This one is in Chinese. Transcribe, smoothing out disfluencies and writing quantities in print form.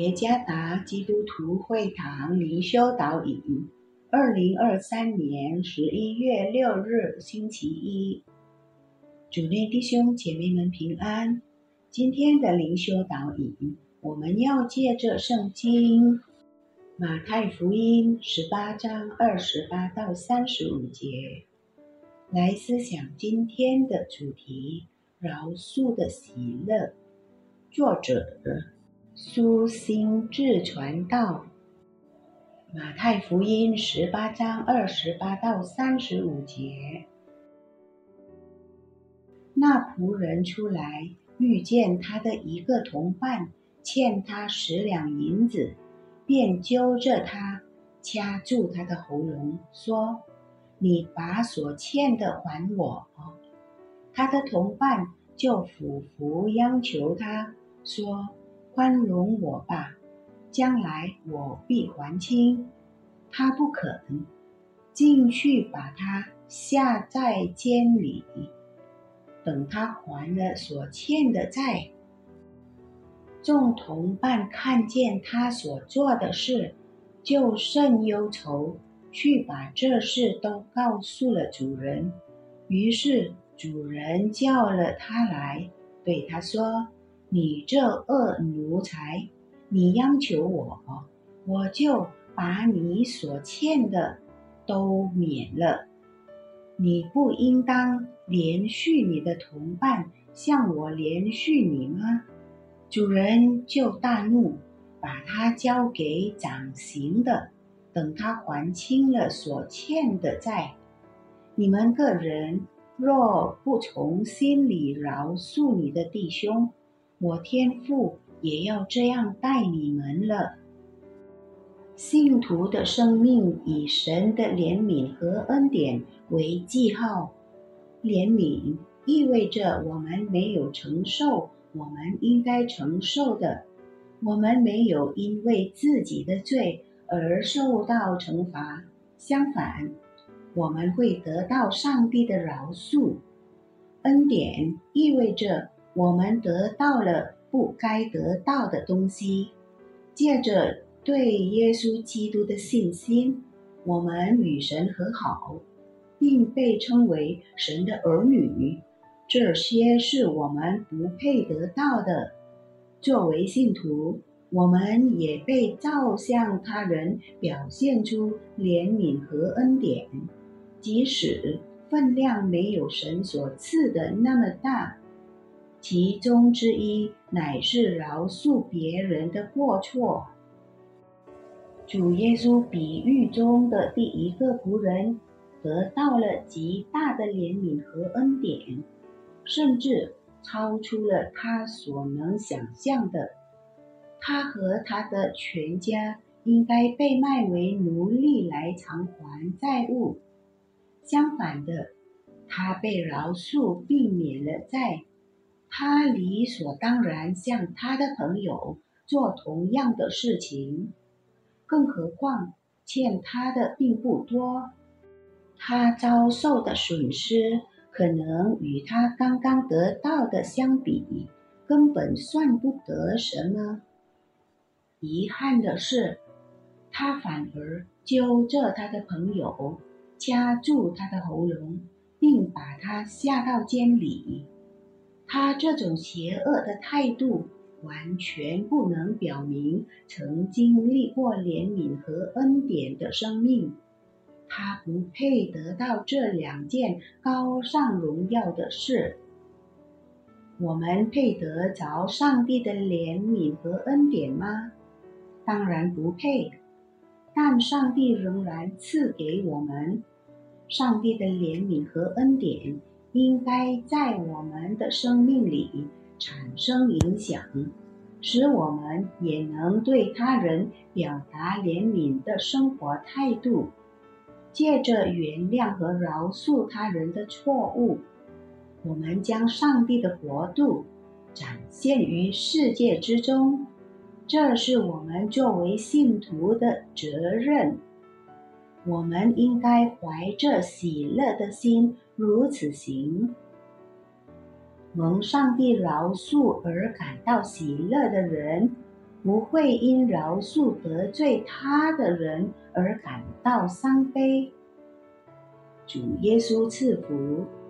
耶加达基督徒会堂灵修导引，2023年11月6日星期一，主内弟兄姐妹们平安。今天的灵修导引，我们要借着圣经马太福音18章28到35节来思想今天的主题：饶恕的喜乐。作者苏心志传道。马太福音18章28到35节。那仆人出来，遇见他的一个同伴欠他10两银子，便揪着他，掐住他的喉咙，说：你把所欠的还我。他的同伴就俯伏央求他，说：宽容我吧，将来我必还清。他不肯，进去把他下在监里，等他还了所欠的债。众同伴看见他所做的事，就甚忧愁，去把这事都告诉了主人。于是主人叫了他来，对他说：你这恶奴才，你央求我，我就把你所欠的都免了。你不应当连续你的同伴，像我连续你吗？主人就大怒，把他交给掌刑的，等他还清了所欠的债。你们个人若不从心里饶恕你的弟兄，我天父也要这样待你们了。信徒的生命以神的怜悯和恩典为记号。怜悯意味着我们没有承受我们应该承受的，我们没有因为自己的罪而受到惩罚，相反，我们会得到上帝的饶恕。恩典意味着我们得到了不该得到的东西，借着对耶稣基督的信心，我们与神和好，并被称为神的儿女。这些是我们不配得到的。作为信徒，我们也被造向他人表现出怜悯和恩典，即使分量没有神所赐的那么大。其中之一乃是饶恕别人的过错。主耶稣比喻中的第一个仆人得到了极大的怜悯和恩典，甚至超出了他所能想象的。他和他的全家应该被卖为奴隶来偿还债务。相反的，他被饶恕并免了债，他理所当然向他的朋友做同样的事情。更何况欠他的并不多，他遭受的损失可能与他刚刚得到的相比，根本算不得什么。遗憾的是，他反而揪着他的朋友，掐住他的喉咙，并把他下到监里。他这种邪恶的态度完全不能表明曾经历过怜悯和恩典的生命。他不配得到这两件高尚荣耀的事。我们配得着上帝的怜悯和恩典吗？当然不配，但上帝仍然赐给我们。上帝的怜悯和恩典应该在我们的生命里产生影响，使我们也能对他人表达怜悯的生活态度。借着原谅和饶恕他人的错误，我们将上帝的国度展现于世界之中。这是我们作为信徒的责任。我们应该怀着喜乐的心如此行。蒙上帝饶恕而感到喜乐的人， 不会因饶恕得罪他的人而感到伤悲。主耶稣赐福。